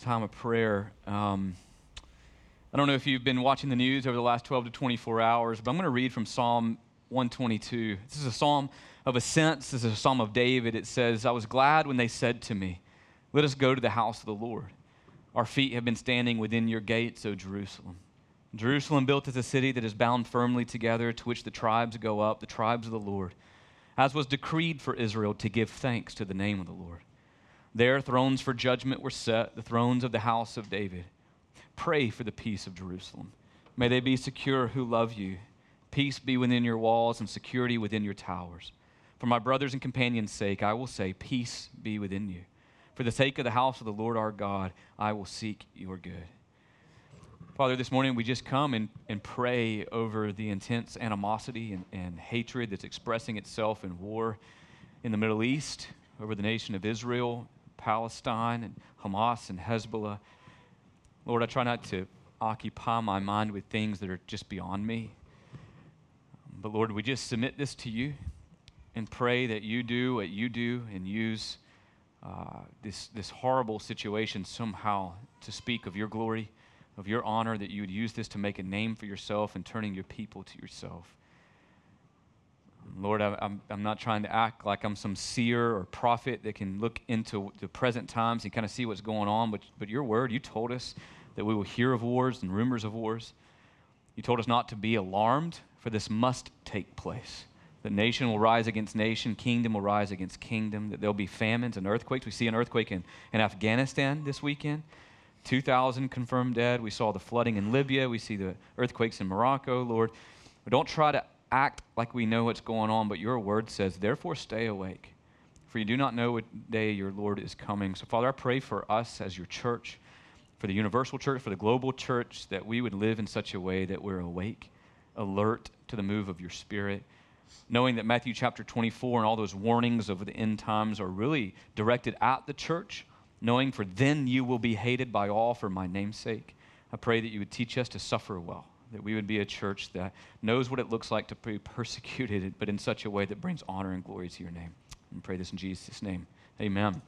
time of prayer. I don't know if you've been watching the news over the last 12 to 24 hours, but I'm going to read from Psalm 122. This is a psalm of ascents. This is a psalm of David. It says, "I was glad when they said to me, 'Let us go to the house of the Lord.' Our feet have been standing within your gates, O Jerusalem. Jerusalem built as a city that is bound firmly together, to which the tribes go up, the tribes of the Lord, as was decreed for Israel to give thanks to the name of the Lord. There thrones for judgment were set, the thrones of the house of David. Pray for the peace of Jerusalem. May they be secure who love you. Peace be within your walls and security within your towers. For my brothers and companions' sake, I will say, peace be within you. For the sake of the house of the Lord our God, I will seek your good." Father, this morning we just come and pray over the intense animosity and hatred that's expressing itself in war in the Middle East, over the nation of Israel, Palestine, and Hamas and Hezbollah. Lord, I try not to occupy my mind with things that are just beyond me. But Lord, we just submit this to you and pray that you do what you do and use this horrible situation somehow to speak of your glory, of your honor, that you would use this to make a name for yourself and turning your people to yourself. Lord, I'm not trying to act like I'm some seer or prophet that can look into the present times and kind of see what's going on, but your word, you told us that we will hear of wars and rumors of wars. You told us not to be alarmed, for this must take place. The nation will rise against nation, kingdom will rise against kingdom, that there'll be famines and earthquakes. We see an earthquake in Afghanistan this weekend. 2,000 confirmed dead. We saw the flooding in Libya. We see the earthquakes in Morocco, Lord. But don't try to act like we know what's going on, but your word says, therefore stay awake, for you do not know what day your Lord is coming. So, Father, I pray for us as your church, for the universal church, for the global church, that we would live in such a way that we're awake, alert to the move of your Spirit, knowing that Matthew chapter 24 and all those warnings of the end times are really directed at the church, knowing for then you will be hated by all for my name's sake. I pray that you would teach us to suffer well, that we would be a church that knows what it looks like to be persecuted, but in such a way that brings honor and glory to your name. And pray this in Jesus' name. Amen.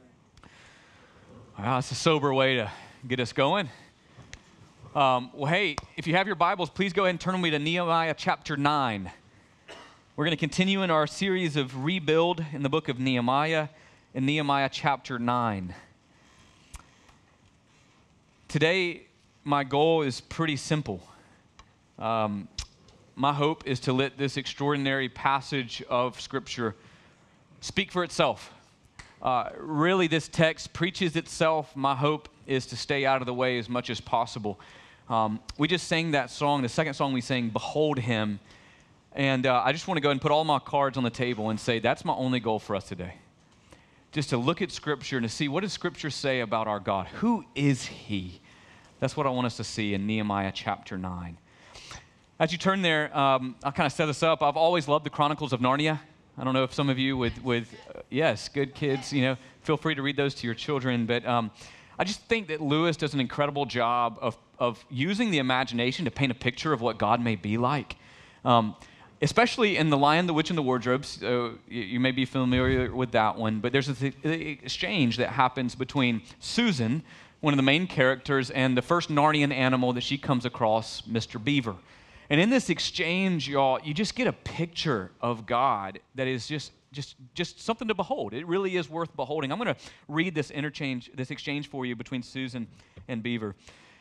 Wow, that's a sober way to get us going. Well, hey, if you have your Bibles, please go ahead and turn with me to Nehemiah chapter 9. We're going to continue in our series of Rebuild in the book of Nehemiah, in Nehemiah chapter 9. Today, my goal is pretty simple. My hope is to let this extraordinary passage of Scripture speak for itself. Really, this text preaches itself. My hope is to stay out of the way as much as possible. We just sang that song, the second song we sang, Behold Him. And I just want to go ahead and put all my cards on the table and say that's my only goal for us today. Just to look at Scripture and to see, what does Scripture say about our God? Who is He? That's what I want us to see in Nehemiah chapter 9. As you turn there, I'll kind of set us up. I've always loved the Chronicles of Narnia. I don't know if some of you yes, good kids, feel free to read those to your children. But I just think that Lewis does an incredible job of using the imagination to paint a picture of what God may be like. Especially in The Lion, the Witch, and the Wardrobe. You may be familiar with that one, but there's an exchange that happens between Susan, one of the main characters, and the first Narnian animal that she comes across, Mr. Beaver. And in this exchange, y'all, you just get a picture of God that is just something to behold. It really is worth beholding. I'm going to read this exchange for you between Susan and Beaver.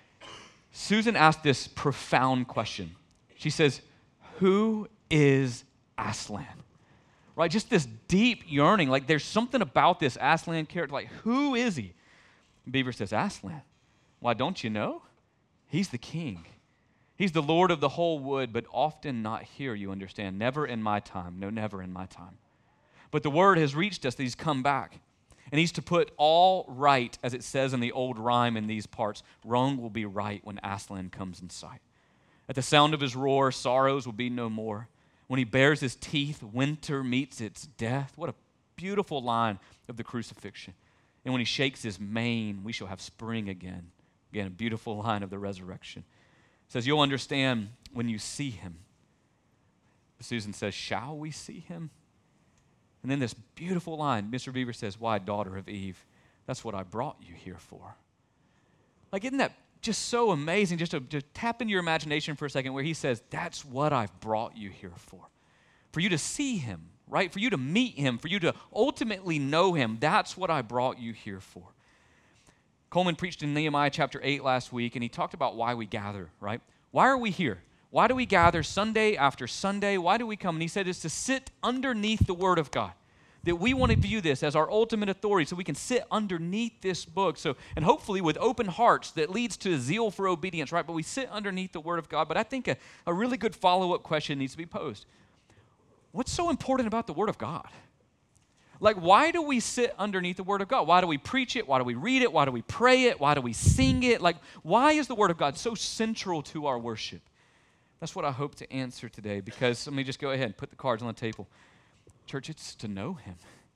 Susan asked this profound question. She says, "Who is Aslan?" Right? Just this deep yearning. Like, there's something about this Aslan character. Like, who is he? Beaver says, "Aslan. Why, don't you know? He's the king. He's the Lord of the whole wood, but often not here, you understand. Never in my time. No, never in my time. But the word has reached us that he's come back. And he's to put all right, as it says in the old rhyme in these parts. Wrong will be right when Aslan comes in sight. At the sound of his roar, sorrows will be no more. When he bares his teeth, winter meets its death." What a beautiful line of the crucifixion. "And when he shakes his mane, we shall have spring again." Again, a beautiful line of the resurrection. It says, "You'll understand when you see him." Susan says, "Shall we see him?" And then this beautiful line, Mr. Beaver says, "Why, daughter of Eve, that's what I brought you here for. Like, isn't that just so amazing? Just to tap into your imagination for a second, where he says, that's what I've brought you here for you to see him, right? For you to meet him, for you to ultimately know him. That's what I brought you here for. Coleman preached in Nehemiah chapter 8 last week, and he talked about why we gather, right? Why are we here? Why do we gather Sunday after Sunday? Why do we come? And he said it's to sit underneath the Word of God. That we want to view this as our ultimate authority, so we can sit underneath this book. So, and hopefully with open hearts that leads to zeal for obedience, right? But we sit underneath the Word of God. But I think a really good follow-up question needs to be posed. What's so important about the Word of God? Like, why do we sit underneath the Word of God? Why do we preach it? Why do we read it? Why do we pray it? Why do we sing it? Like, why is the Word of God so central to our worship? That's what I hope to answer today, because let me just go ahead and put the cards on the table. Church, it's to know him.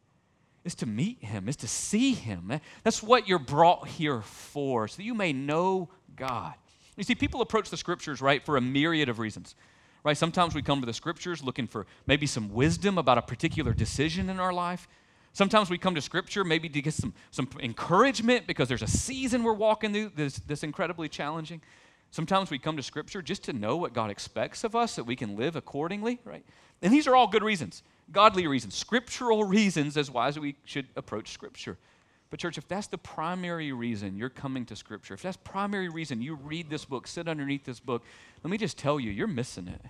It's to meet him. It's to see him. That's what you're brought here for, so that you may know God. You see, people approach the Scriptures, right, for a myriad of reasons. Right? Sometimes we come to the Scriptures looking for maybe some wisdom about a particular decision in our life. Sometimes we come to Scripture maybe to get some encouragement because there's a season we're walking through that's incredibly challenging. Sometimes we come to Scripture just to know what God expects of us, that we can live accordingly, right? And these are all good reasons, godly reasons, scriptural reasons as why we should approach Scripture. But church, if that's the primary reason you're coming to Scripture, if that's the primary reason you read this book, sit underneath this book, let me just tell you, you're missing it.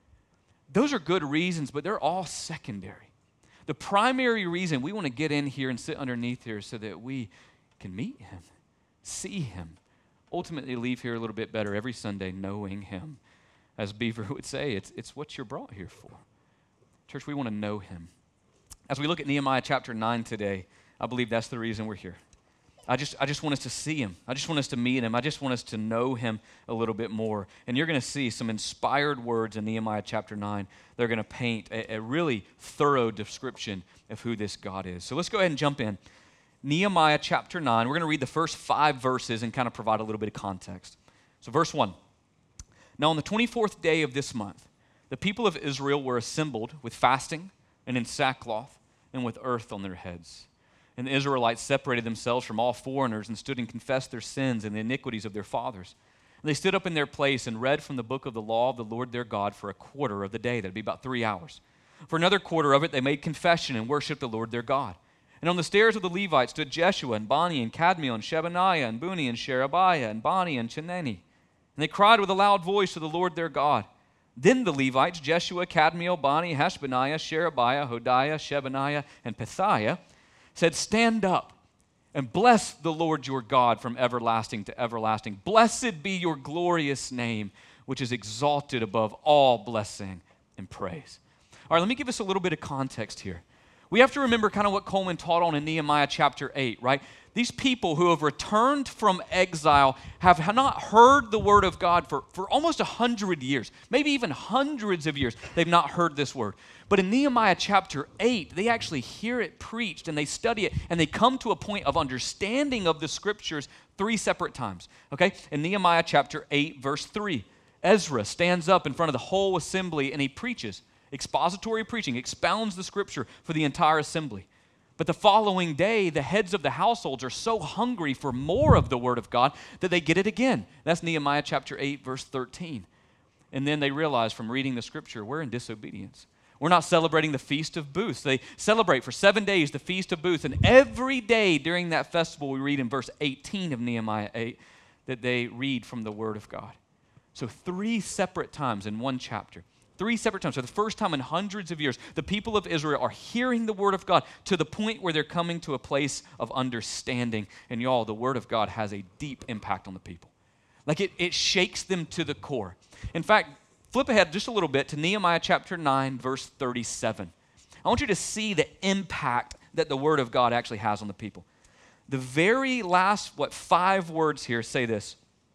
Those are good reasons, but they're all secondary. The primary reason we want to get in here and sit underneath here is so that we can meet him, see him, ultimately leave here a little bit better every Sunday knowing him. As Beaver would say, it's what you're brought here for. Church, we want to know him. As we look at Nehemiah chapter 9 today, I believe that's the reason we're here. I just want us to see him. I just want us to meet him. I just want us to know him a little bit more. And you're going to see some inspired words in Nehemiah chapter 9. They're going to paint a really thorough description of who this God is. So let's go ahead and jump in. Nehemiah chapter 9. We're going to read the first 5 verses and kind of provide a little bit of context. So verse 1. Now on the 24th day of this month, the people of Israel were assembled with fasting and in sackcloth and with earth on their heads. And the Israelites separated themselves from all foreigners and stood and confessed their sins and the iniquities of their fathers. And they stood up in their place and read from the book of the law of the Lord their God for a quarter of the day. That would be about 3 hours. For another quarter of it, they made confession and worshiped the Lord their God. And on the stairs of the Levites stood Jeshua and Bani and Kadmiel and Shebaniah and Buni and Sherebiah and Bani and Chenani. And they cried with a loud voice to the Lord their God. Then the Levites, Jeshua, Kadmiel, Bani, Hashbaniah, Sherebiah, Hodiah, Shebaniah, and Pethiah, said, stand up and bless the Lord your God from everlasting to everlasting. Blessed be your glorious name, which is exalted above all blessing and praise. All right, let me give us a little bit of context here. We have to remember kind of what Coleman taught on in Nehemiah chapter 8, right? These people who have returned from exile have not heard the word of God for almost 100 years, maybe even hundreds of years. They've not heard this word. But in Nehemiah chapter 8, they actually hear it preached and they study it and they come to a point of understanding of the scriptures 3 separate times. Okay? In Nehemiah chapter 8, verse 3, Ezra stands up in front of the whole assembly and he preaches. Expository preaching, expounds the scripture for the entire assembly. But the following day, the heads of the households are so hungry for more of the word of God that they get it again. That's Nehemiah chapter 8, verse 13. And then they realize from reading the scripture, we're in disobedience. We're not celebrating the Feast of Booths. They celebrate for 7 days the Feast of Booths. And every day during that festival, we read in verse 18 of Nehemiah 8 that they read from the word of God. So 3 separate times in one chapter. 3 separate times. So the first time in hundreds of years, the people of Israel are hearing the word of God to the point where they're coming to a place of understanding. And y'all, the word of God has a deep impact on the people. Like it shakes them to the core. In fact, flip ahead just a little bit to Nehemiah chapter 9, verse 37. I want you to see the impact that the word of God actually has on the people. The very last, 5 words here say this,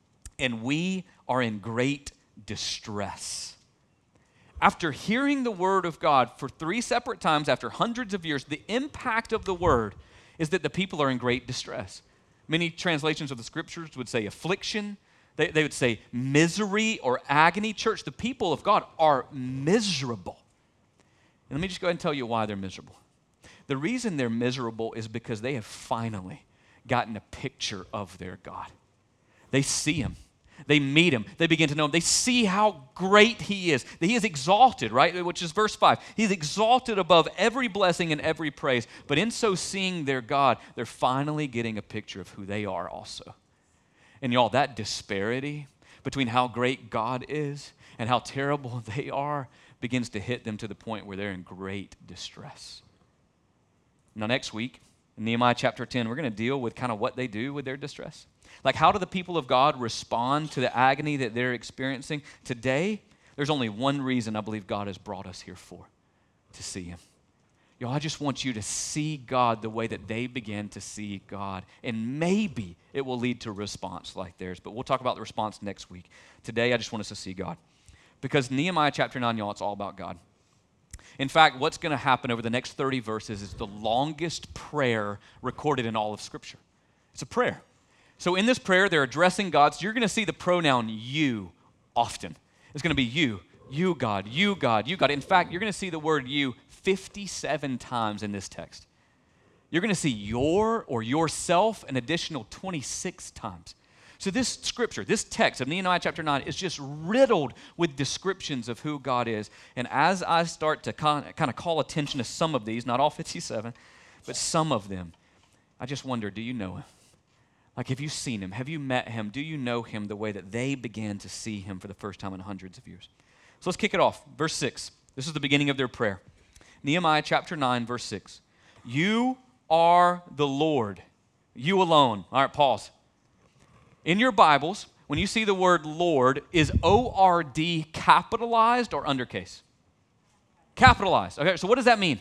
and we are in great distress. After hearing the word of God for 3 separate times after hundreds of years, the impact of the word is that the people are in great distress. Many translations of the scriptures would say affliction. They would say misery or agony. Church, the people of God are miserable. And let me just go ahead and tell you why they're miserable. The reason they're miserable is because they have finally gotten a picture of their God. They see him. They meet him. They begin to know him. They see how great he is. That he is exalted, right? Which is verse 5. He's exalted above every blessing and every praise. But in so seeing their God, they're finally getting a picture of who they are also. And y'all, that disparity between how great God is and how terrible they are begins to hit them to the point where they're in great distress. Now, next week, in Nehemiah chapter 10, we're going to deal with kind of what they do with their distress. Like, how do the people of God respond to the agony that they're experiencing? Today, there's only one reason I believe God has brought us here for, to see him. Y'all, I just want you to see God the way that they began to see God. And maybe it will lead to a response like theirs. But we'll talk about the response next week. Today, I just want us to see God. Because Nehemiah chapter 9, y'all, it's all about God. In fact, what's going to happen over the next 30 verses is the longest prayer recorded in all of Scripture. It's a prayer. So in this prayer, they're addressing God. So you're going to see the pronoun you often. It's going to be you God, you God, you God. In fact, you're going to see the word you 57 times in this text. You're going to see your or yourself an additional 26 times. So this scripture, this text of Nehemiah chapter 9 is just riddled with descriptions of who God is. And as I start to kind of call attention to some of these, not all 57, but some of them, I just wonder, do you know him? Like, have you seen him? Have you met him? Do you know him the way that they began to see him for the first time in hundreds of years? So let's kick it off. Verse 6. This is the beginning of their prayer. Nehemiah chapter 9, verse 6. You are the Lord, you alone. All right, pause. In your Bibles, when you see the word Lord, is O-R-D capitalized or undercase? Capitalized. Okay, so what does that mean?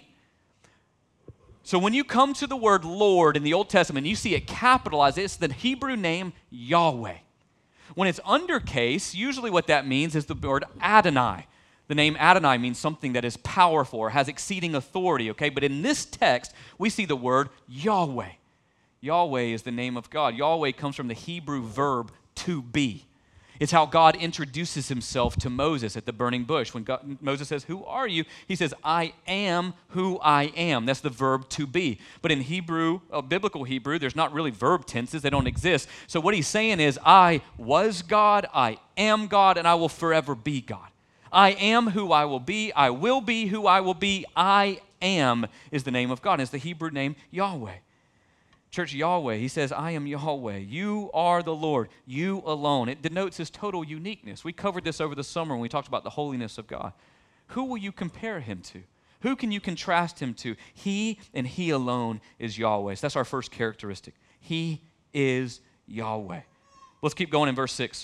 So when you come to the word Lord in the Old Testament, you see it capitalized. It's the Hebrew name Yahweh. When it's undercase, usually what that means is the word Adonai. The name Adonai means something that is powerful or has exceeding authority, okay? But in this text, we see the word Yahweh. Yahweh is the name of God. Yahweh comes from the Hebrew verb to be. It's how God introduces himself to Moses at the burning bush. When Moses says, who are you? He says, I am who I am. That's the verb to be. But in Hebrew, biblical Hebrew, there's not really verb tenses. They don't exist. So what he's saying is, I was God, I am God, and I will forever be God. I am who I will be who I will be. I am is the name of God. It's the Hebrew name Yahweh. Church, Yahweh, he says, I am Yahweh. You are the Lord. You alone. It denotes his total uniqueness. We covered this over the summer when we talked about the holiness of God. Who will you compare him to? Who can you contrast him to? He and he alone is Yahweh. So that's our first characteristic. He is Yahweh. Let's keep going in verse 6.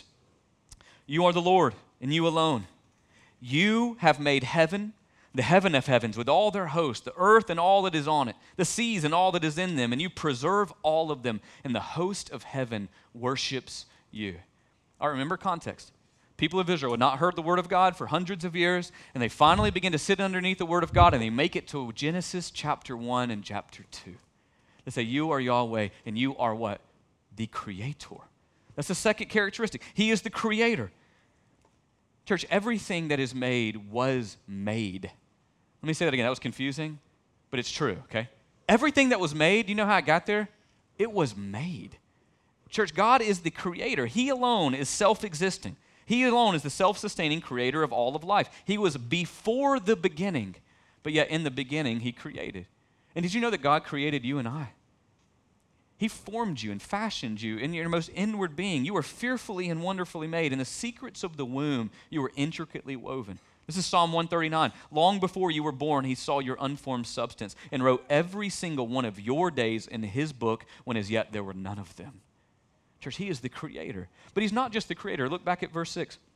You are the Lord, and you alone. You have made heaven, the heaven of heavens with all their host, the earth and all that is on it, the seas and all that is in them, and you preserve all of them, and the host of heaven worships you. All right, remember context. People of Israel had not heard the word of God for hundreds of years, and they finally begin to sit underneath the word of God, and they make it to Genesis chapter 1 and chapter 2. They say, you are Yahweh, and you are what? The creator. That's the second characteristic. He is the creator. Church, everything that is made was made. Let me say that again. That was confusing, but it's true, okay? Everything that was made, you know how it got there? It was made. Church, God is the creator. He alone is self-existing. He alone is the self-sustaining creator of all of life. He was before the beginning, but yet in the beginning, he created. And did you know that God created you and I? He formed you and fashioned you in your most inward being. You were fearfully and wonderfully made. In the secrets of the womb, you were intricately woven. This is Psalm 139. Long before you were born, he saw your unformed substance and wrote every single one of your days in his book when as yet there were none of them. Church, he is the creator. But he's not just the creator. Look back at verse 6. It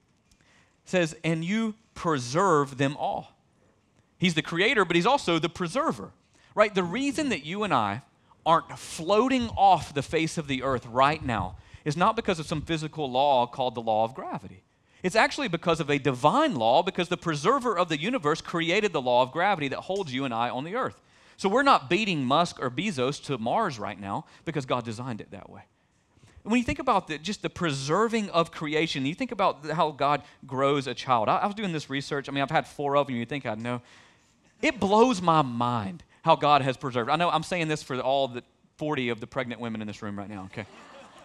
says, and you preserve them all. He's the creator, but he's also the preserver. Right? The reason that you and I aren't floating off the face of the earth right now is not because of some physical law called the law of gravity. It's actually because of a divine law, because the preserver of the universe created the law of gravity that holds you and I on the earth. So we're not beating Musk or Bezos to Mars right now because God designed it that way. And when you think about just the preserving of creation, you think about how God grows a child. I was doing this research. I mean, I've had 4 of them. You'd think I'd know. It blows my mind how God has preserved. I know I'm saying this for all the 40 of the pregnant women in this room right now, okay?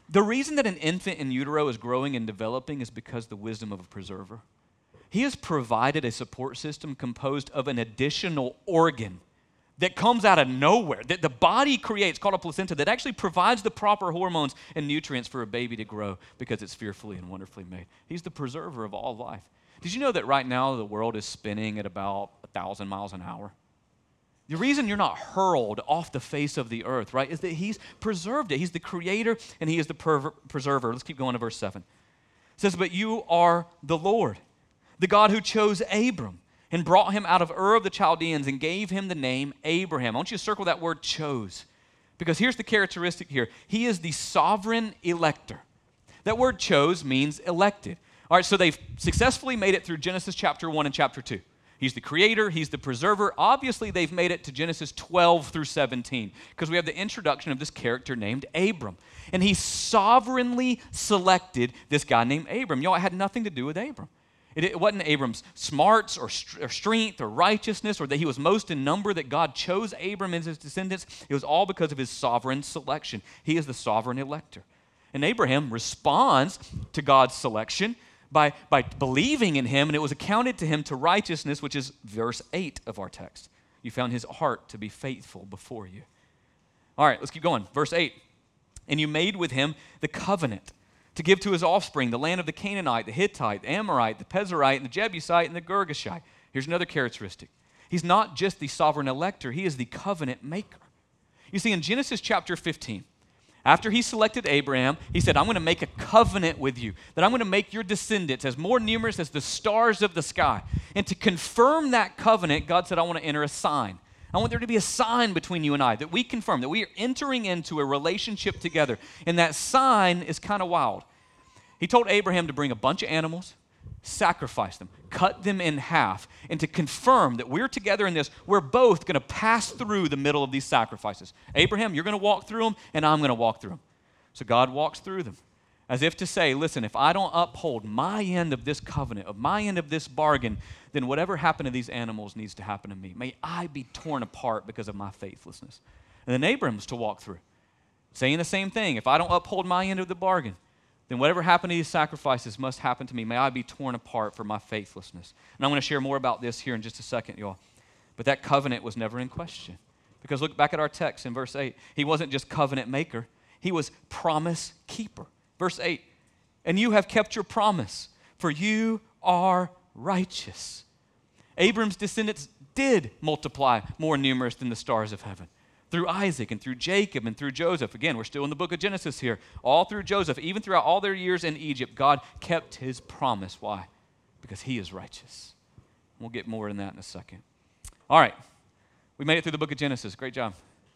The reason that an infant in utero is growing and developing is because the wisdom of a preserver. He has provided a support system composed of an additional organ that comes out of nowhere, that the body creates, called a placenta, that actually provides the proper hormones and nutrients for a baby to grow because it's fearfully and wonderfully made. He's the preserver of all life. Did you know that right now the world is spinning at about 1,000 miles an hour? The reason you're not hurled off the face of the earth, right, is that he's preserved it. He's the creator and he is the preserver. Let's keep going to verse 7. It says, but you are the Lord, the God who chose Abram and brought him out of Ur of the Chaldeans and gave him the name Abraham. I want you to circle that word chose, because here's the characteristic here. He is the sovereign elector. That word chose means elected. All right, so they've successfully made it through Genesis chapter 1 and chapter 2. He's the creator, he's the preserver. Obviously, they've made it to Genesis 12 through 17 because we have the introduction of this character named Abram. And he sovereignly selected this guy named Abram. Y'all, it had nothing to do with Abram. It wasn't Abram's smarts or strength or righteousness or that he was most in number that God chose Abram and his descendants. It was all because of his sovereign selection. He is the sovereign elector. And Abraham responds to God's selection by believing in him, and it was accounted to him to righteousness, which is verse 8 of our text. You found his heart to be faithful before you. All right, let's keep going. Verse 8. And you made with him the covenant to give to his offspring the land of the Canaanite, the Hittite, the Amorite, the Pezerite, and the Jebusite, and the Girgashite. Here's another characteristic. He's not just the sovereign elector, he is the covenant maker. You see, in Genesis chapter 15, after he selected Abraham, he said, I'm going to make a covenant with you, that I'm going to make your descendants as more numerous as the stars of the sky. And to confirm that covenant, God said, I want to enter a sign. I want there to be a sign between you and I, that we confirm, that we are entering into a relationship together. And that sign is kind of wild. He told Abraham to bring a bunch of animals, sacrifice them, cut them in half, and to confirm that we're together in this, we're both going to pass through the middle of these sacrifices. Abraham, you're going to walk through them, and I'm going to walk through them. So God walks through them, as if to say, listen, if I don't uphold my end of this covenant, of my end of this bargain, then whatever happened to these animals needs to happen to me. May I be torn apart because of my faithlessness. And then Abraham's to walk through, saying the same thing. If I don't uphold my end of the bargain, then whatever happened to these sacrifices must happen to me. May I be torn apart for my faithlessness. And I'm going to share more about this here in just a second, y'all. But that covenant was never in question. Because look back at our text in verse 8. He wasn't just covenant maker. He was promise keeper. Verse 8, and you have kept your promise, for you are righteous. Abram's descendants did multiply more numerous than the stars of heaven. Through Isaac and through Jacob and through Joseph. Again, we're still in the book of Genesis here. All through Joseph, even throughout all their years in Egypt, God kept his promise. Why? Because he is righteous. We'll get more in that in a second. All right. We made it through the book of Genesis. Great job.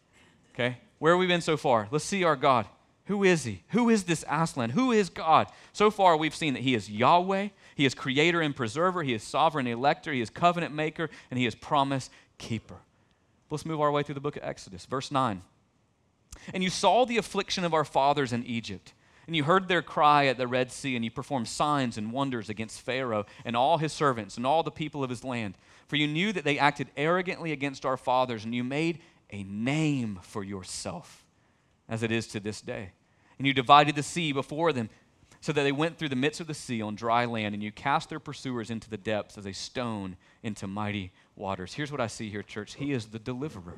Okay. Where have we been so far? Let's see our God. Who is he? Who is this Aslan? Who is God? So far, we've seen that he is Yahweh. He is creator and preserver. He is sovereign elector. He is covenant maker. And he is promise keeper. Let's move our way through the book of Exodus. Verse 9. And you saw the affliction of our fathers in Egypt, and you heard their cry at the Red Sea, and you performed signs and wonders against Pharaoh and all his servants and all the people of his land. For you knew that they acted arrogantly against our fathers, and you made a name for yourself, as it is to this day. And you divided the sea before them, so that they went through the midst of the sea on dry land, and you cast their pursuers into the depths as a stone into mighty waters. Here's what I see here, church. He is the deliverer.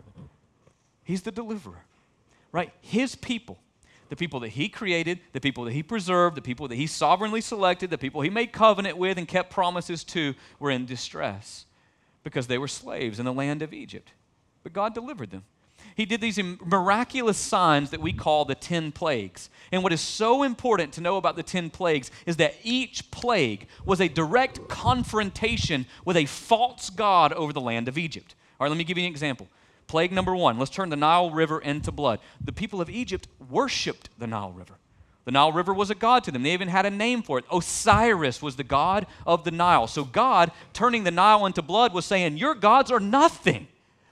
He's the deliverer, right? His people, the people that he created, the people that he preserved, the people that he sovereignly selected, the people he made covenant with and kept promises to, were in distress because they were slaves in the land of Egypt. But God delivered them. He did these miraculous signs that we call the 10 plagues. And what is so important to know about the 10 plagues is that each plague was a direct confrontation with a false god over the land of Egypt. All right, let me give you an example. Plague number 1, let's turn the Nile River into blood. The people of Egypt worshiped the Nile River. The Nile River was a god to them. They even had a name for it. Osiris was the god of the Nile. So God, turning the Nile into blood, was saying, your gods are nothing.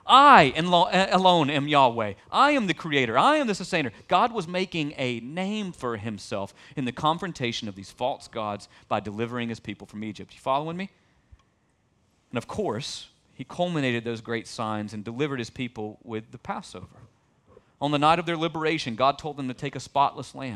I alone am Yahweh. I am the creator. I am the sustainer. God was making a name for himself in the confrontation of these false gods by delivering his people from Egypt. You following me? And of course, he culminated those great signs and delivered his people with the Passover. On the night of their liberation, God told them to take a spotless lamb,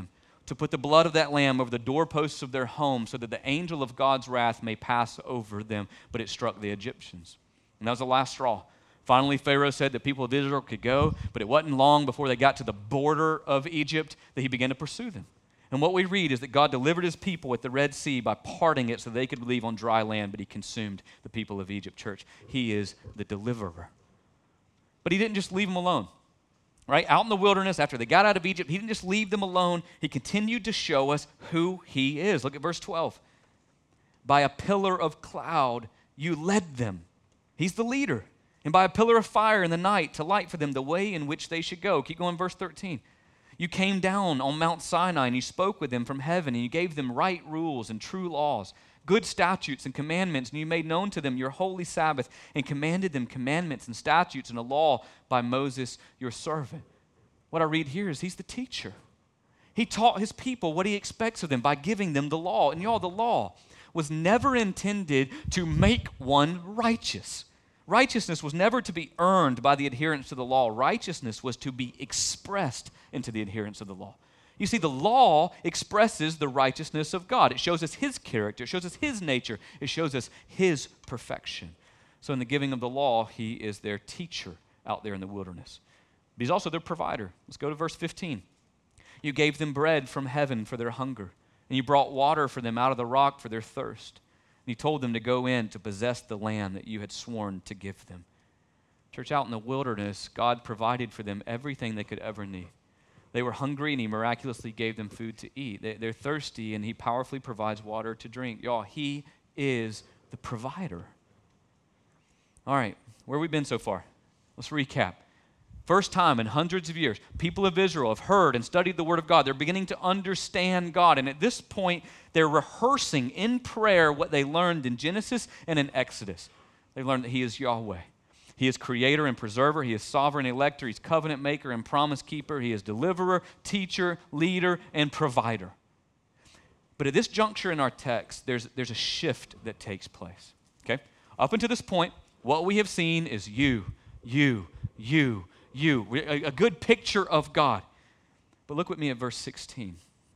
to put the blood of that lamb over the doorposts of their home so that the angel of God's wrath may pass over them. But it struck the Egyptians. And that was the last straw. Finally, Pharaoh said the people of Israel could go, but it wasn't long before they got to the border of Egypt that he began to pursue them. And what we read is that God delivered his people at the Red Sea by parting it so they could leave on dry land, but he consumed the people of Egypt. Church, he is the deliverer. But he didn't just leave them alone. Right? Out in the wilderness, after they got out of Egypt, he didn't just leave them alone. He continued to show us who he is. Look at verse 12. By a pillar of cloud, you led them. He's the leader. And by a pillar of fire in the night to light for them the way in which they should go. Keep going, verse 13. You came down on Mount Sinai and you spoke with them from heaven and you gave them right rules and true laws, good statutes and commandments, and you made known to them your holy Sabbath and commanded them commandments and statutes and a law by Moses your servant. What I read here is he's the teacher. He taught his people what he expects of them by giving them the law. And y'all, the law was never intended to make one righteous. Righteousness was never to be earned by the adherence to the law. Righteousness was to be expressed into the adherence of the law. You see, the law expresses the righteousness of God. It shows us his character. It shows us his nature. It shows us his perfection. So in the giving of the law, he is their teacher out there in the wilderness. But he's also their provider. Let's go to verse 15. You gave them bread from heaven for their hunger, and you brought water for them out of the rock for their thirst. And you told them to go in to possess the land that you had sworn to give them. Church, out in the wilderness, God provided for them everything they could ever need. They were hungry, and he miraculously gave them food to eat. They're thirsty, and he powerfully provides water to drink. Y'all, he is the provider. All right, where have we been so far? Let's recap. First time in hundreds of years, people of Israel have heard and studied the Word of God. They're beginning to understand God. And at this point, they're rehearsing in prayer what they learned in Genesis and in Exodus. They learned that he is Yahweh. He is creator and preserver. He is sovereign elector. He's covenant maker and promise keeper. He is deliverer, teacher, leader, and provider. But at this juncture in our text, there's a shift that takes place. Okay? Up until this point, what we have seen is you. A good picture of God. But look with me at verse 16.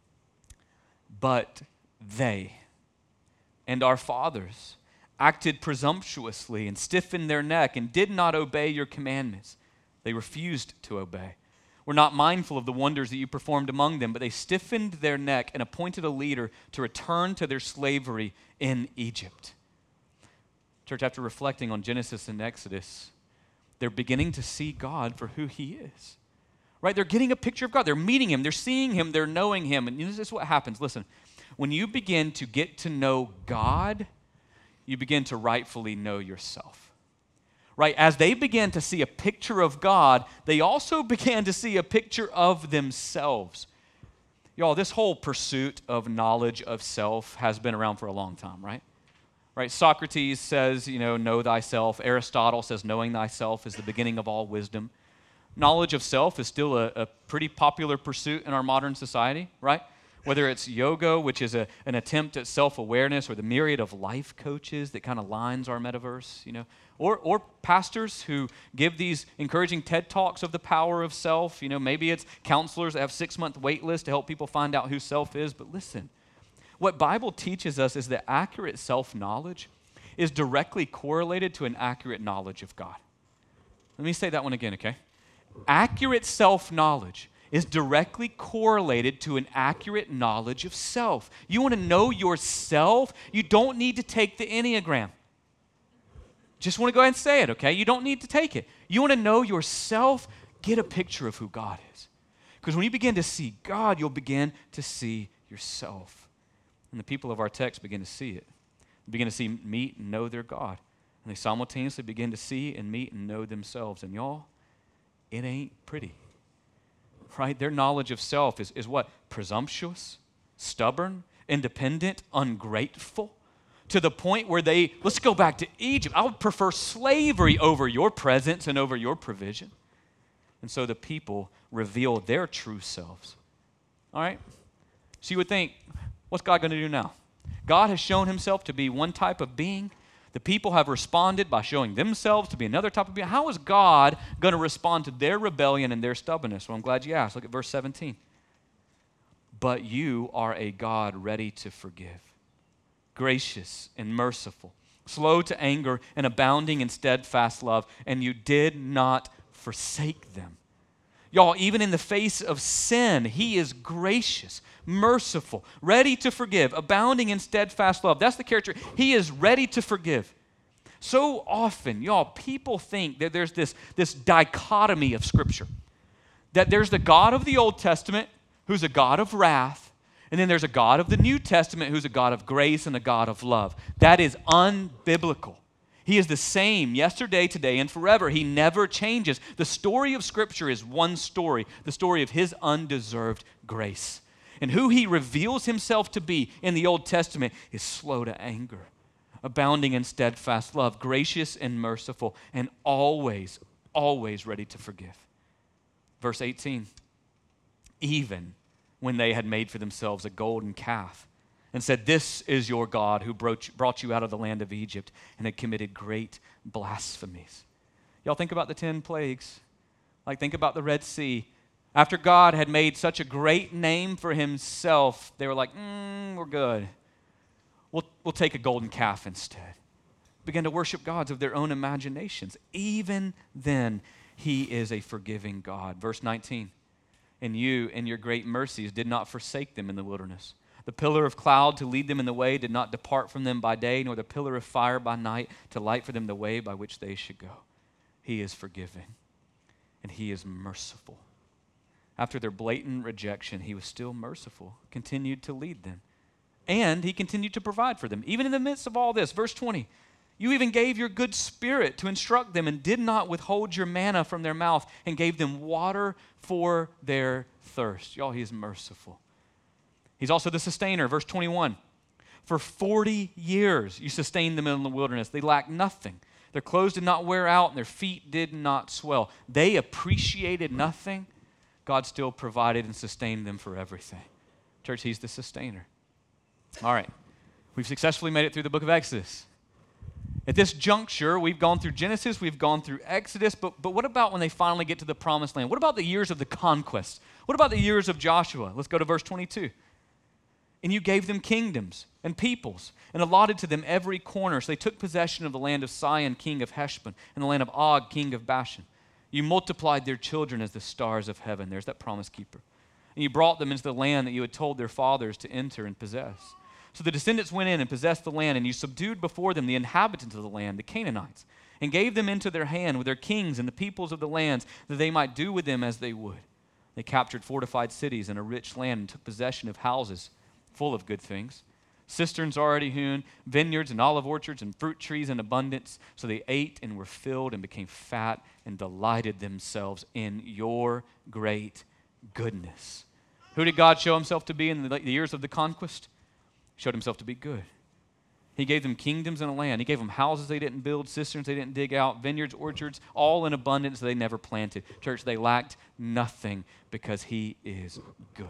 But they and our fathers acted presumptuously and stiffened their neck and did not obey your commandments. They refused to obey. Were not mindful of the wonders that you performed among them, but they stiffened their neck and appointed a leader to return to their slavery in Egypt. Church, after reflecting on Genesis and Exodus, they're beginning to see God for who he is. Right? They're getting a picture of God. They're meeting him. They're seeing him. They're knowing him. And this is what happens. Listen, when you begin to get to know God, you begin to rightfully know yourself. Right? As they began to see a picture of God, they also began to see a picture of themselves. Y'all, this whole pursuit of knowledge of self has been around for a long time, right? Right? Socrates says, know thyself. Aristotle says knowing thyself is the beginning of all wisdom. Knowledge of self is still a pretty popular pursuit in our modern society, right? Whether it's yoga, which is an attempt at self-awareness, or the myriad of life coaches that kind of lines our metaverse, or pastors who give these encouraging TED Talks of the power of self. Maybe it's counselors that have 6-month wait lists to help people find out who self is. But listen, what Bible teaches us is that accurate self-knowledge is directly correlated to an accurate knowledge of God. Let me say that one again, okay? Accurate self-knowledge is directly correlated to an accurate knowledge of self. You want to know yourself? You don't need to take the Enneagram. Just want to go ahead and say it, okay? You don't need to take it. You want to know yourself? Get a picture of who God is. Because when you begin to see God, you'll begin to see yourself. And the people of our text begin to see it. They begin to see, meet, and know their God. And they simultaneously begin to see and meet and know themselves. And y'all, it ain't pretty. Right? Their knowledge of self is what? Presumptuous, stubborn, independent, ungrateful, to the point where let's go back to Egypt. I would prefer slavery over your presence and over your provision. And so the people reveal their true selves. All right? So you would think, what's God going to do now? God has shown himself to be one type of being. The people have responded by showing themselves to be another type of being. How is God going to respond to their rebellion and their stubbornness? Well, I'm glad you asked. Look at verse 17. but you are a God ready to forgive, gracious and merciful, slow to anger and abounding in steadfast love, and you did not forsake them. Y'all, even in the face of sin, he is gracious, merciful, ready to forgive, abounding in steadfast love. That's the character. He is ready to forgive. So often, y'all, people think that there's this dichotomy of Scripture, that there's the God of the Old Testament who's a God of wrath, and then there's a God of the New Testament who's a God of grace and a God of love. That is unbiblical. He is the same yesterday, today, and forever. He never changes. The story of Scripture is one story, the story of his undeserved grace. And who he reveals himself to be in the Old Testament is slow to anger, abounding in steadfast love, gracious and merciful, and always, always ready to forgive. Verse 18, even when they had made for themselves a golden calf and said, "This is your God who brought you out of the land of Egypt," and had committed great blasphemies. Y'all think about the 10 plagues. Like, think about the Red Sea. After God had made such a great name for himself, they were like, we're good. We'll take a golden calf instead. Began to worship gods of their own imaginations. Even then, he is a forgiving God. Verse 19, and you, in your great mercies, did not forsake them in the wilderness. The pillar of cloud to lead them in the way did not depart from them by day, nor the pillar of fire by night to light for them the way by which they should go. He is forgiving, and he is merciful. After their blatant rejection, he was still merciful, continued to lead them, and he continued to provide for them. Even in the midst of all this, verse 20, you even gave your good spirit to instruct them and did not withhold your manna from their mouth and gave them water for their thirst. Y'all, he is merciful. He's also the sustainer. Verse 21, for 40 years you sustained them in the wilderness. They lacked nothing. Their clothes did not wear out and their feet did not swell. They appreciated nothing. God still provided and sustained them for everything. Church, he's the sustainer. All right, we've successfully made it through the book of Exodus. At this juncture, we've gone through Genesis, we've gone through Exodus, but what about when they finally get to the promised land? What about the years of the conquest? What about the years of Joshua? Let's go to verse 22. And you gave them kingdoms and peoples and allotted to them every corner. So they took possession of the land of Sihon, king of Heshbon, and the land of Og, king of Bashan. You multiplied their children as the stars of heaven. There's that promise keeper. And you brought them into the land that you had told their fathers to enter and possess. So the descendants went in and possessed the land, and you subdued before them the inhabitants of the land, the Canaanites, and gave them into their hand with their kings and the peoples of the lands, that they might do with them as they would. They captured fortified cities and a rich land and took possession of houses full of good things, cisterns already hewn, vineyards and olive orchards and fruit trees in abundance. So they ate and were filled and became fat and delighted themselves in your great goodness. Who did God show himself to be in the years of the conquest? He showed himself to be good. He gave them kingdoms and a land. He gave them houses they didn't build, cisterns they didn't dig out, vineyards, orchards, all in abundance they never planted. Church, they lacked nothing because he is good.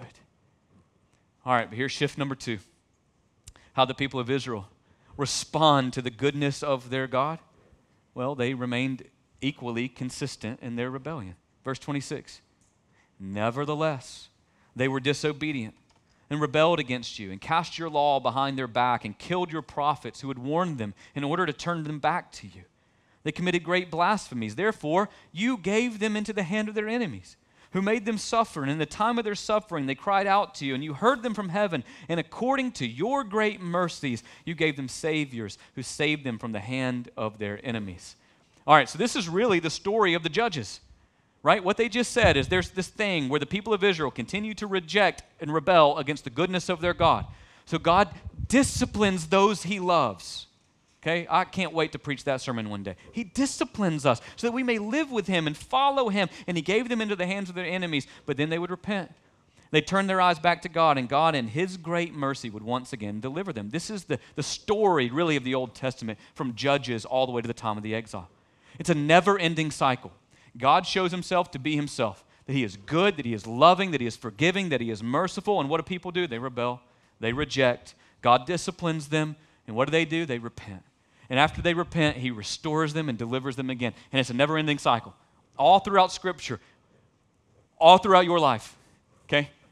All right, but here's shift number 2. How the people of Israel respond to the goodness of their God. Well, they remained equally consistent in their rebellion. Verse 26, nevertheless, they were disobedient and rebelled against you and cast your law behind their back and killed your prophets who had warned them in order to turn them back to you. They committed great blasphemies. Therefore, you gave them into the hand of their enemies, who made them suffer. And in the time of their suffering, they cried out to you, and you heard them from heaven. And according to your great mercies, you gave them saviors who saved them from the hand of their enemies. All right, so this is really the story of the judges, right? What they just said is there's this thing where the people of Israel continue to reject and rebel against the goodness of their God. So God disciplines those he loves. Okay, I can't wait to preach that sermon one day. He disciplines us so that we may live with him and follow him. And he gave them into the hands of their enemies, but then they would repent. They turned their eyes back to God, and God in his great mercy would once again deliver them. This is the story really of the Old Testament from Judges all the way to the time of the exile. It's a never-ending cycle. God shows himself to be himself, that he is good, that he is loving, that he is forgiving, that he is merciful. And what do people do? They rebel. They reject. God disciplines them. And what do? They repent. And after they repent, he restores them and delivers them again. And it's a never-ending cycle. All throughout Scripture, all throughout your life, okay?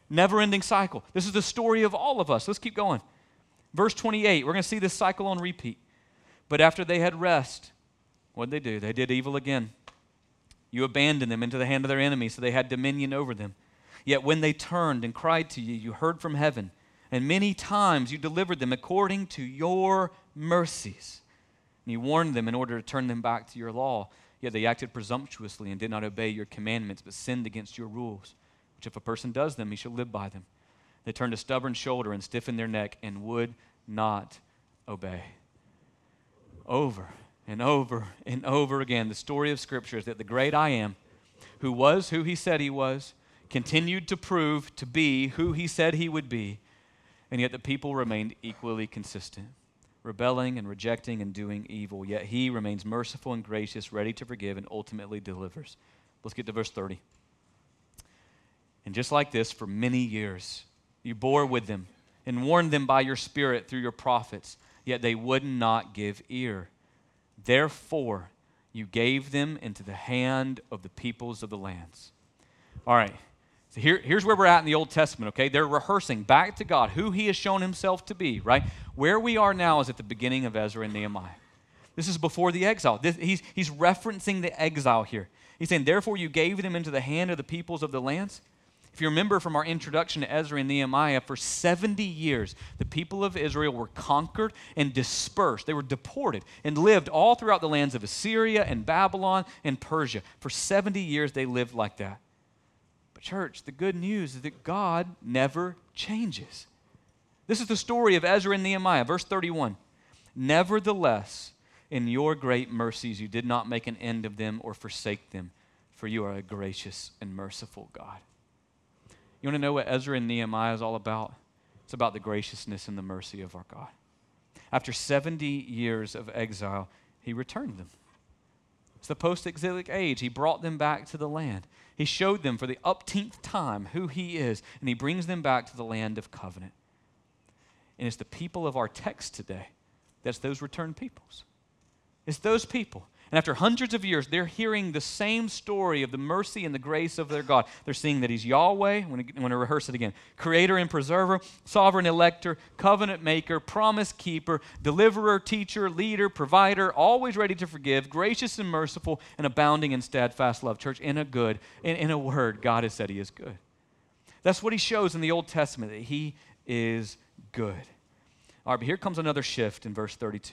Never-ending cycle. This is the story of all of us. Let's keep going. Verse 28, we're going to see this cycle on repeat. But after they had rest, what did they do? They did evil again. You abandoned them into the hand of their enemies, so they had dominion over them. Yet when they turned and cried to you, you heard from heaven, and many times you delivered them according to your mercies. And you warned them in order to turn them back to your law. Yet they acted presumptuously and did not obey your commandments, but sinned against your rules, which if a person does them, he shall live by them. They turned a stubborn shoulder and stiffened their neck and would not obey. Over and over and over again, the story of Scripture is that the great I Am, who was who he said he was, continued to prove to be who he said he would be, and yet the people remained equally consistent, rebelling and rejecting and doing evil. Yet he remains merciful and gracious, ready to forgive, and ultimately delivers. Let's get to verse 30. And just like this, for many years, you bore with them and warned them by your Spirit through your prophets, yet they would not give ear. Therefore, you gave them into the hand of the peoples of the lands. All right, so here's where we're at in the Old Testament, okay? They're rehearsing back to God who he has shown himself to be, right? Where we are now is at the beginning of Ezra and Nehemiah. This is before the exile. He's referencing the exile here. He's saying, therefore, you gave them into the hand of the peoples of the lands. If you remember from our introduction to Ezra and Nehemiah, for 70 years, the people of Israel were conquered and dispersed. They were deported and lived all throughout the lands of Assyria and Babylon and Persia. For 70 years, they lived like that. But church, the good news is that God never changes. This is the story of Ezra and Nehemiah, verse 31. Nevertheless, in your great mercies, you did not make an end of them or forsake them, for you are a gracious and merciful God. You want to know what Ezra and Nehemiah is all about? It's about the graciousness and the mercy of our God. After 70 years of exile, he returned them. It's the post-exilic age. He brought them back to the land. He showed them for the upteenth time who he is, and he brings them back to the land of covenant. And it's the people of our text today that's those returned peoples. It's those people. And after hundreds of years, they're hearing the same story of the mercy and the grace of their God. They're seeing that he's Yahweh, I'm going to rehearse it again, creator and preserver, sovereign elector, covenant maker, promise keeper, deliverer, teacher, leader, provider, always ready to forgive, gracious and merciful, and abounding in steadfast love. Church, in a word, God has said he is good. That's what he shows in the Old Testament, that he is good. All right, but here comes another shift in verse 32.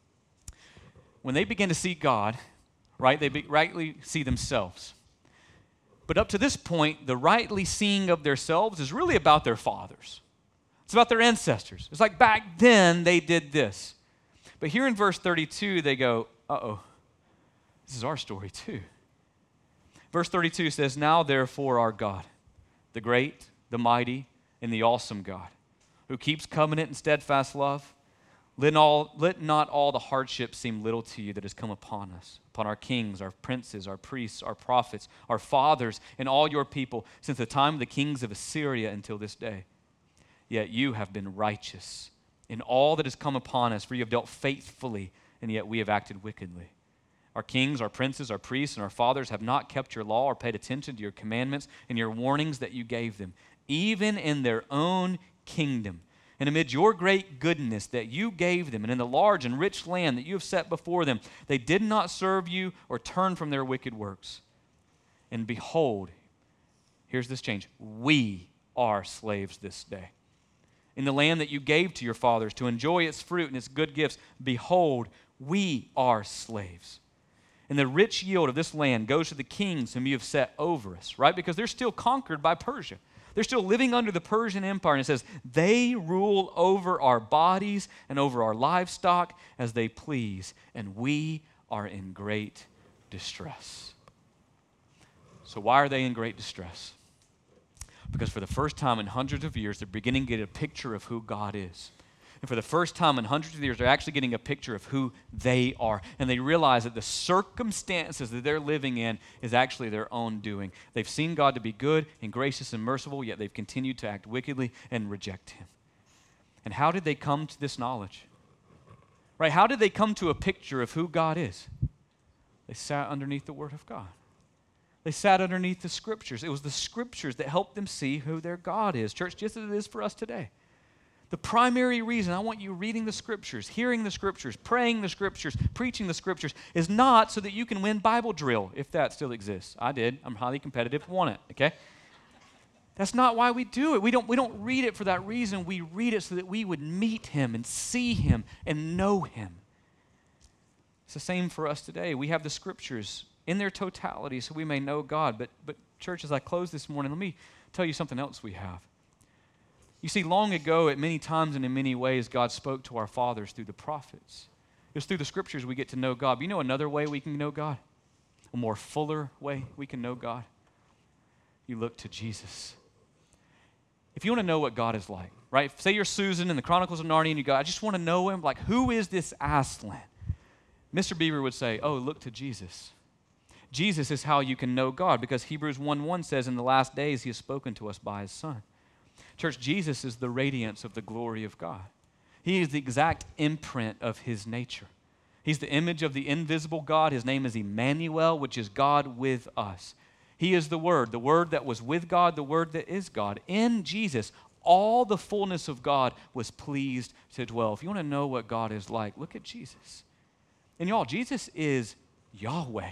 When they begin to see God, right, they rightly see themselves. But up to this point, the rightly seeing of themselves is really about their fathers. It's about their ancestors. It's like back then they did this. But here in verse 32, they go, uh-oh, this is our story too. Verse 32 says, now therefore our God, the great, the mighty, and the awesome God, who keeps covenant and steadfast love, let not all the hardships seem little to you that has come upon us, upon our kings, our princes, our priests, our prophets, our fathers, and all your people, since the time of the kings of Assyria until this day. Yet you have been righteous in all that has come upon us, for you have dealt faithfully, and yet we have acted wickedly. Our kings, our princes, our priests, and our fathers have not kept your law or paid attention to your commandments and your warnings that you gave them, even in their own kingdom. And amid your great goodness that you gave them, and in the large and rich land that you have set before them, they did not serve you or turn from their wicked works. And behold, here's this change. We are slaves this day. In the land that you gave to your fathers to enjoy its fruit and its good gifts, behold, we are slaves. And the rich yield of this land goes to the kings whom you have set over us, right? Because they're still conquered by Persia. They're still living under the Persian Empire, and it says, they rule over our bodies and over our livestock as they please, and we are in great distress. So why are they in great distress? Because for the first time in hundreds of years, they're beginning to get a picture of who God is. And for the first time in hundreds of years, they're actually getting a picture of who they are. And they realize that the circumstances that they're living in is actually their own doing. They've seen God to be good and gracious and merciful, yet they've continued to act wickedly and reject him. And how did they come to this knowledge? Right? How did they come to a picture of who God is? They sat underneath the Word of God. They sat underneath the Scriptures. It was the Scriptures that helped them see who their God is. Church, just as it is for us today. The primary reason I want you reading the Scriptures, hearing the Scriptures, praying the Scriptures, preaching the Scriptures is not so that you can win Bible drill, if that still exists. I did. I'm highly competitive, won it, okay? That's not why we do it. We don't read it for that reason. We read it so that we would meet Him and see Him and know Him. It's the same for us today. We have the Scriptures in their totality so we may know God. But church, as I close this morning, let me tell you something else we have. You see, long ago, at many times and in many ways, God spoke to our fathers through the prophets. It was through the Scriptures we get to know God. But you know another way we can know God? A more fuller way we can know God? You look to Jesus. If you want to know what God is like, right? Say you're Susan in the Chronicles of Narnia and you go, I just want to know Him. Like, who is this Aslan? Mr. Beaver would say, oh, look to Jesus. Jesus is how you can know God because Hebrews 1:1 says in the last days He has spoken to us by His Son. Church, Jesus is the radiance of the glory of God. He is the exact imprint of His nature. He's the image of the invisible God. His name is Emmanuel, which is God with us. He is the Word that was with God, the Word that is God. In Jesus, all the fullness of God was pleased to dwell. If you want to know what God is like, look at Jesus. And y'all, Jesus is Yahweh.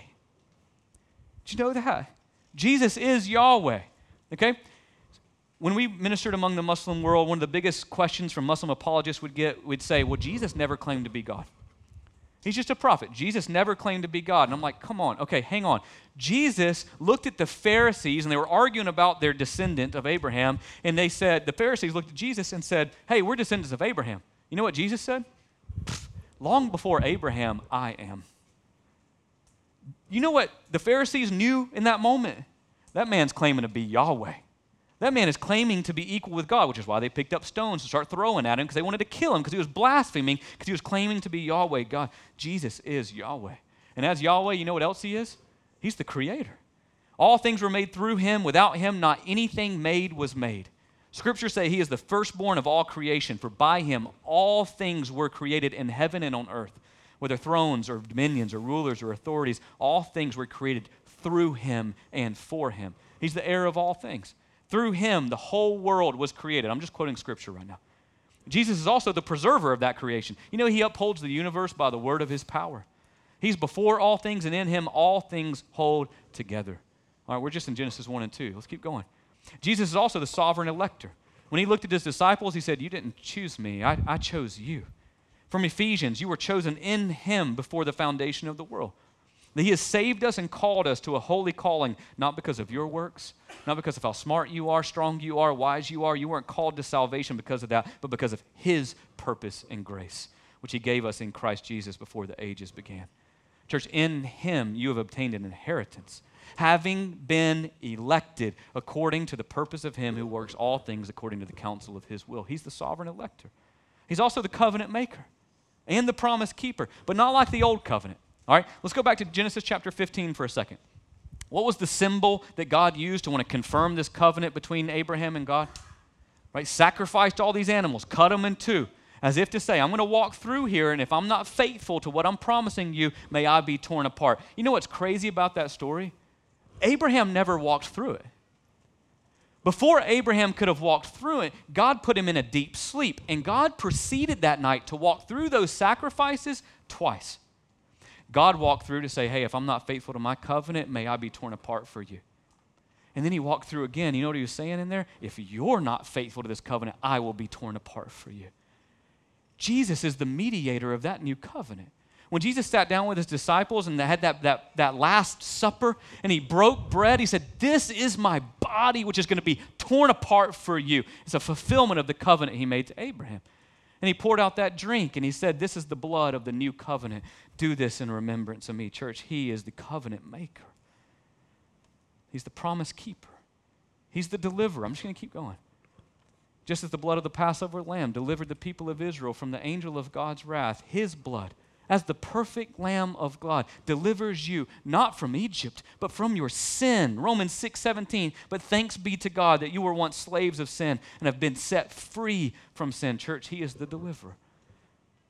Did you know that? Jesus is Yahweh, okay? When we ministered among the Muslim world, one of the biggest questions from Muslim apologists would say, well, Jesus never claimed to be God. He's just a prophet. Jesus never claimed to be God. And I'm like, come on, okay, hang on. Jesus looked at the Pharisees, and they were arguing about their descendant of Abraham, and they said, the Pharisees looked at Jesus and said, hey, we're descendants of Abraham. You know what Jesus said? Long before Abraham, I am. You know what the Pharisees knew in that moment? That man's claiming to be Yahweh. That man is claiming to be equal with God, which is why they picked up stones to start throwing at him because they wanted to kill him because he was blaspheming, because he was claiming to be Yahweh, God. Jesus is Yahweh. And as Yahweh, you know what else He is? He's the Creator. All things were made through Him. Without Him, not anything made was made. Scriptures say He is the firstborn of all creation, for by Him all things were created in heaven and on earth. Whether thrones or dominions or rulers or authorities, all things were created through Him and for Him. He's the heir of all things. Through Him, the whole world was created. I'm just quoting Scripture right now. Jesus is also the preserver of that creation. You know, He upholds the universe by the word of His power. He's before all things, and in Him all things hold together. All right, we're just in Genesis 1 and 2. Let's keep going. Jesus is also the sovereign elector. When He looked at His disciples, He said, you didn't choose me, I chose you. From Ephesians, you were chosen in Him before the foundation of the world. That He has saved us and called us to a holy calling, not because of your works, not because of how smart you are, strong you are, wise you are. You weren't called to salvation because of that, but because of His purpose and grace, which He gave us in Christ Jesus before the ages began. Church, in Him you have obtained an inheritance, having been elected according to the purpose of Him who works all things according to the counsel of His will. He's the sovereign elector. He's also the covenant maker and the promise keeper, but not like the old covenant. All right, let's go back to Genesis chapter 15 for a second. What was the symbol that God used to want to confirm this covenant between Abraham and God? Right, sacrificed all these animals, cut them in two, as if to say, I'm going to walk through here, and if I'm not faithful to what I'm promising you, may I be torn apart. You know what's crazy about that story? Abraham never walked through it. Before Abraham could have walked through it, God put him in a deep sleep, and God proceeded that night to walk through those sacrifices twice. God walked through to say, hey, if I'm not faithful to my covenant, may I be torn apart for you. And then He walked through again. You know what He was saying in there? If you're not faithful to this covenant, I will be torn apart for you. Jesus is the mediator of that new covenant. When Jesus sat down with His disciples and they had that Last Supper and He broke bread, He said, this is my body which is going to be torn apart for you. It's a fulfillment of the covenant He made to Abraham. And He poured out that drink and He said, this is the blood of the new covenant. Do this in remembrance of me. Church, He is the covenant maker. He's the promise keeper. He's the deliverer. I'm just going to keep going. Just as the blood of the Passover lamb delivered the people of Israel from the angel of God's wrath, His blood, as the perfect Lamb of God, delivers you not from Egypt, but from your sin. Romans 6:17. But thanks be to God that you were once slaves of sin and have been set free from sin. Church, He is the deliverer.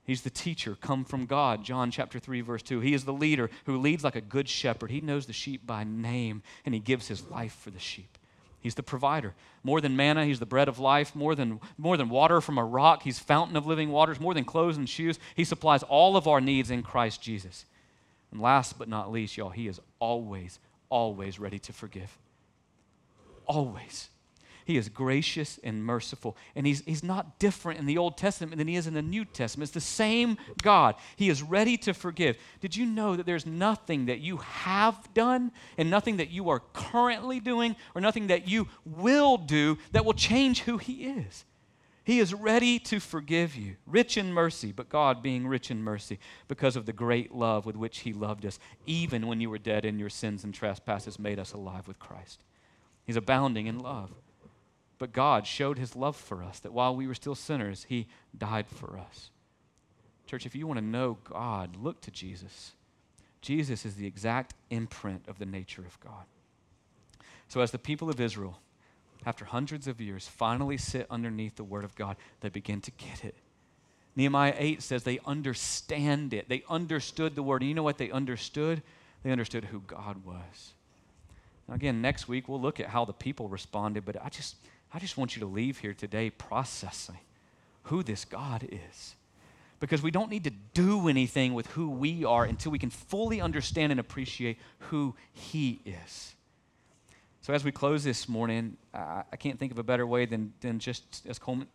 He's the teacher, come from God, John chapter 3, verse 2. He is the leader who leads like a good shepherd. He knows the sheep by name, and he gives his life for the sheep. He's the provider. More than manna, he's the bread of life. More than water from a rock, he's fountain of living waters. More than clothes and shoes, he supplies all of our needs in Christ Jesus. And last but not least, y'all, he is always, always ready to forgive. Always. He is gracious and merciful. And he's not different in the Old Testament than he is in the New Testament. It's the same God. He is ready to forgive. Did you know that there's nothing that you have done and nothing that you are currently doing or nothing that you will do that will change who he is? He is ready to forgive you, rich in mercy, but God being rich in mercy because of the great love with which he loved us, even when you were dead in your sins and trespasses, made us alive with Christ. He's abounding in love. But God showed his love for us, that while we were still sinners, he died for us. Church, if you want to know God, look to Jesus. Jesus is the exact imprint of the nature of God. So as the people of Israel, after hundreds of years, finally sit underneath the word of God, they begin to get it. Nehemiah 8 says they understand it. They understood the word. And you know what they understood? They understood who God was. Now again, next week we'll look at how the people responded, but I just want you to leave here today processing who this God is. Because we don't need to do anything with who we are until we can fully understand and appreciate who he is. So as we close this morning, I can't think of a better way than just as Coleman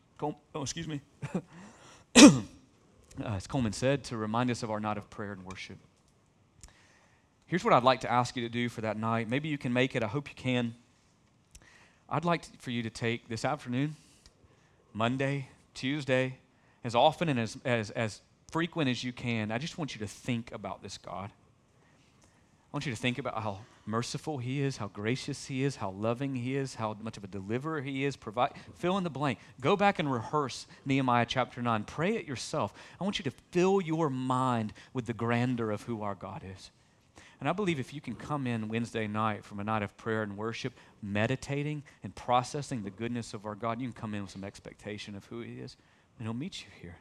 as Coleman said, to remind us of our night of prayer and worship. Here's what I'd like to ask you to do for that night. Maybe you can make it. I hope you can. I'd like for you to take this afternoon, Monday, Tuesday, as often and as frequent as you can. I just want you to think about this God. I want you to think about how merciful he is, how gracious he is, how loving he is, how much of a deliverer he is. Fill in the blank. Go back and rehearse Nehemiah chapter 9. Pray it yourself. I want you to fill your mind with the grandeur of who our God is. And I believe if you can come in Wednesday night from a night of prayer and worship, meditating and processing the goodness of our God, you can come in with some expectation of who he is, and he'll meet you here.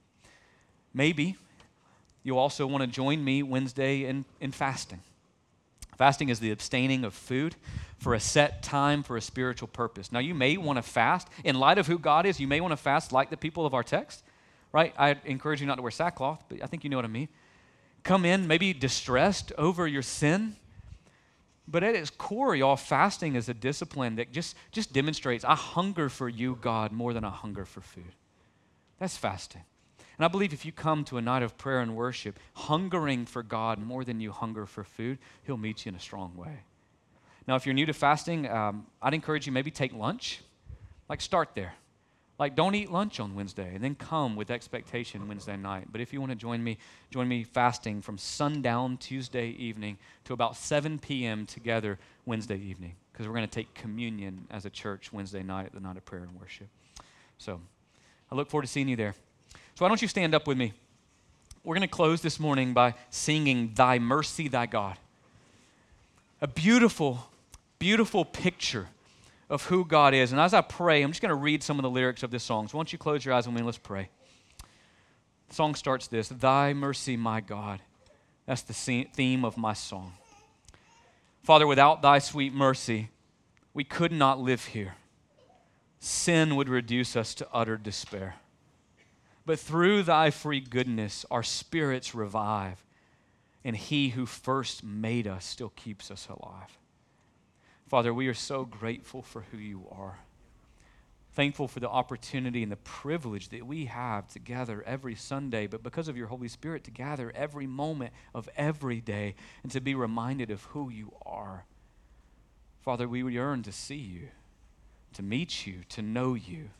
Maybe you'll also want to join me Wednesday in fasting. Fasting is the abstaining of food for a set time for a spiritual purpose. Now, you may want to fast. In light of who God is, you may want to fast like the people of our text, right? I encourage you not to wear sackcloth, but I think you know what I mean. Come in maybe distressed over your sin. But at its core, y'all, fasting is a discipline that just demonstrates, I hunger for you, God, more than I hunger for food. That's fasting. And I believe if you come to a night of prayer and worship, hungering for God more than you hunger for food, he'll meet you in a strong way. Now, if you're new to fasting, I'd encourage you maybe take lunch. Like, start there. Like, don't eat lunch on Wednesday and then come with expectation Wednesday night. But if you want to join me fasting from sundown Tuesday evening to about 7 p.m. together Wednesday evening, because we're going to take communion as a church Wednesday night at the night of prayer and worship. So I look forward to seeing you there. So why don't you stand up with me? We're going to close this morning by singing Thy Mercy, Thy God. A beautiful, beautiful picture of who God is. And as I pray, I'm just going to read some of the lyrics of this song. So why don't you close your eyes with me and let's pray. The song starts this: Thy mercy, my God. That's the theme of my song. Father, without thy sweet mercy, we could not live here. Sin would reduce us to utter despair. But through thy free goodness, our spirits revive, and he who first made us still keeps us alive. Father, we are so grateful for who you are. Thankful for the opportunity and the privilege that we have to gather every Sunday, but because of your Holy Spirit, to gather every moment of every day and to be reminded of who you are. Father, we yearn to see you, to meet you, to know you.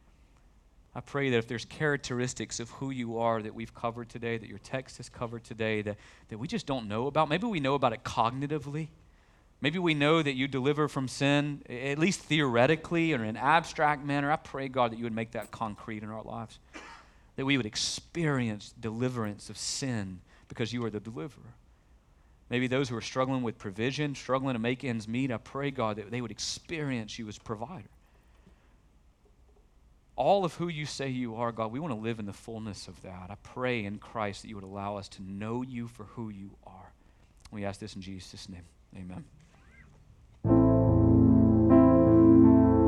I pray that if there's characteristics of who you are that we've covered today, that your text has covered today, that we just don't know about, maybe we know about it cognitively. Maybe we know that you deliver from sin, at least theoretically or in an abstract manner. I pray, God, that you would make that concrete in our lives, that we would experience deliverance of sin because you are the deliverer. Maybe those who are struggling with provision, struggling to make ends meet, I pray, God, that they would experience you as provider. all of who you say you are, God, we want to live in the fullness of that. I pray in Christ that you would allow us to know you for who you are. We ask this in Jesus' name. Amen.